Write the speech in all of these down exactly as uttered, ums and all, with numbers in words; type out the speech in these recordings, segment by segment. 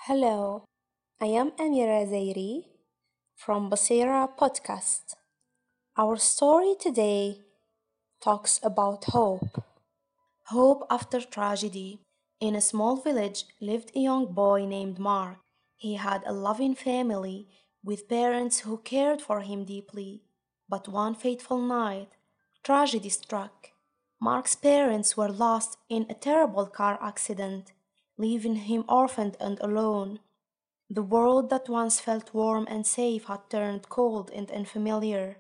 Hello, I am Amira Zairi from Basira Podcast. Our story today talks about hope. Hope after tragedy. In a small village lived a young boy named Mark. He had a loving family with parents who cared for him deeply. But one fateful night, tragedy struck. Mark's parents were lost in a terrible car accident, leaving him orphaned and alone. The world that once felt warm and safe had turned cold and unfamiliar.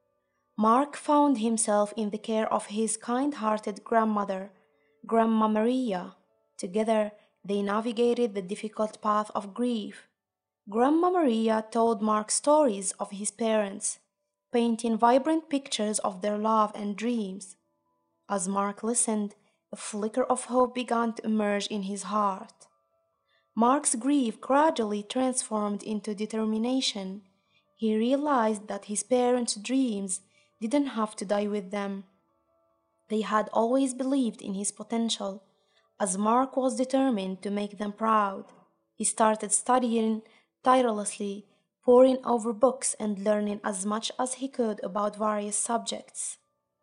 Mark found himself in the care of his kind-hearted grandmother, Grandma Maria. Together, they navigated the difficult path of grief. Grandma Maria told Mark stories of his parents, painting vibrant pictures of their love and dreams. As Mark listened, a flicker of hope began to emerge in his heart. Mark's grief gradually transformed into determination. He realized that his parents' dreams didn't have to die with them. They had always believed in his potential, as Mark was determined to make them proud. He started studying tirelessly, poring over books and learning as much as he could about various subjects.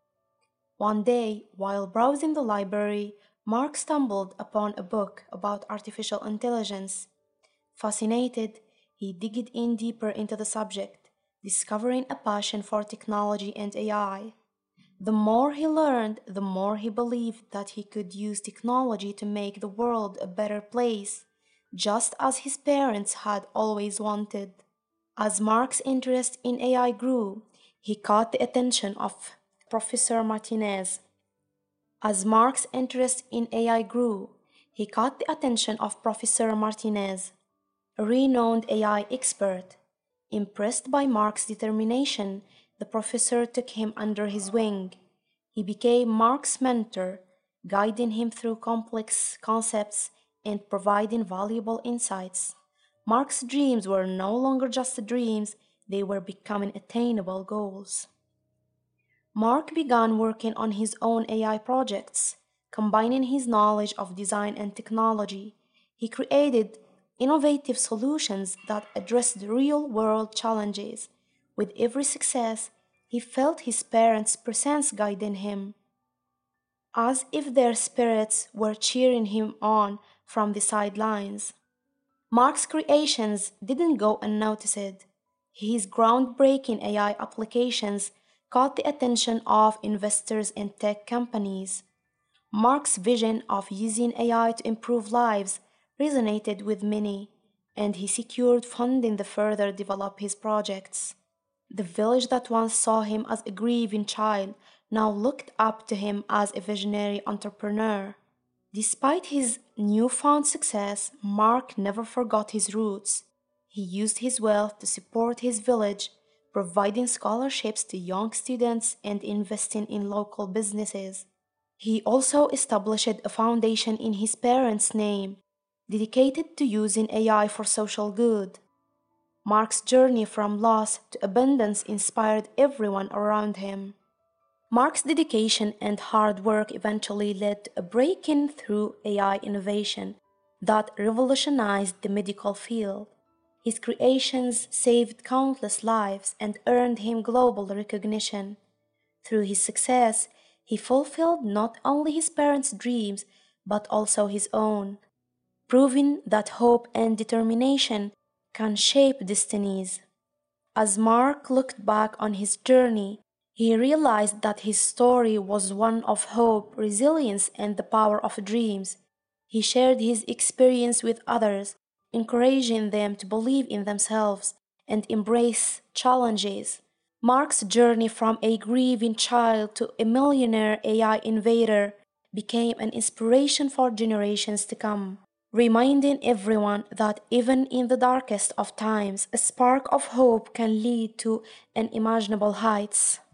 One day, while browsing the library, Mark stumbled upon a book about artificial intelligence. Fascinated, he digged in deeper into the subject, discovering a passion for technology and A I. The more he learned, the more he believed that he could use technology to make the world a better place, just as his parents had always wanted. As Mark's interest in A I grew, he caught the attention of Professor Martinez. As Mark's interest in A I grew, he caught the attention of Professor Martinez, a renowned A I expert. Impressed by Mark's determination, the professor took him under his wing. He became Mark's mentor, guiding him through complex concepts and providing valuable insights. Mark's dreams were no longer just dreams, they were becoming attainable goals. Mark began working on his own A I projects, combining his knowledge of design and technology. He created innovative solutions that addressed real-world challenges. With every success, he felt his parents' presence guiding him, as if their spirits were cheering him on from the sidelines. Mark's creations didn't go unnoticed. His groundbreaking A I applications caught the attention of investors and tech companies. Mark's vision of using A I to improve lives resonated with many, and he secured funding to further develop his projects. The village that once saw him as a grieving child now looked up to him as a visionary entrepreneur. Despite his newfound success, Mark never forgot his roots. He used his wealth to support his village, providing scholarships to young students and investing in local businesses. He also established a foundation in his parents' name, dedicated to using A I for social good. Mark's journey from loss to abundance inspired everyone around him. Mark's dedication and hard work eventually led to a breakthrough through A I innovation that revolutionized the medical field. His creations saved countless lives and earned him global recognition. Through his success, he fulfilled not only his parents' dreams but also his own, proving that hope and determination can shape destinies. As Mark looked back on his journey, he realized that his story was one of hope, resilience, and the power of dreams. He shared his experience with others, encouraging them to believe in themselves and embrace challenges. Mark's journey from a grieving child to a millionaire A I innovator became an inspiration for generations to come, reminding everyone that even in the darkest of times, a spark of hope can lead to unimaginable heights.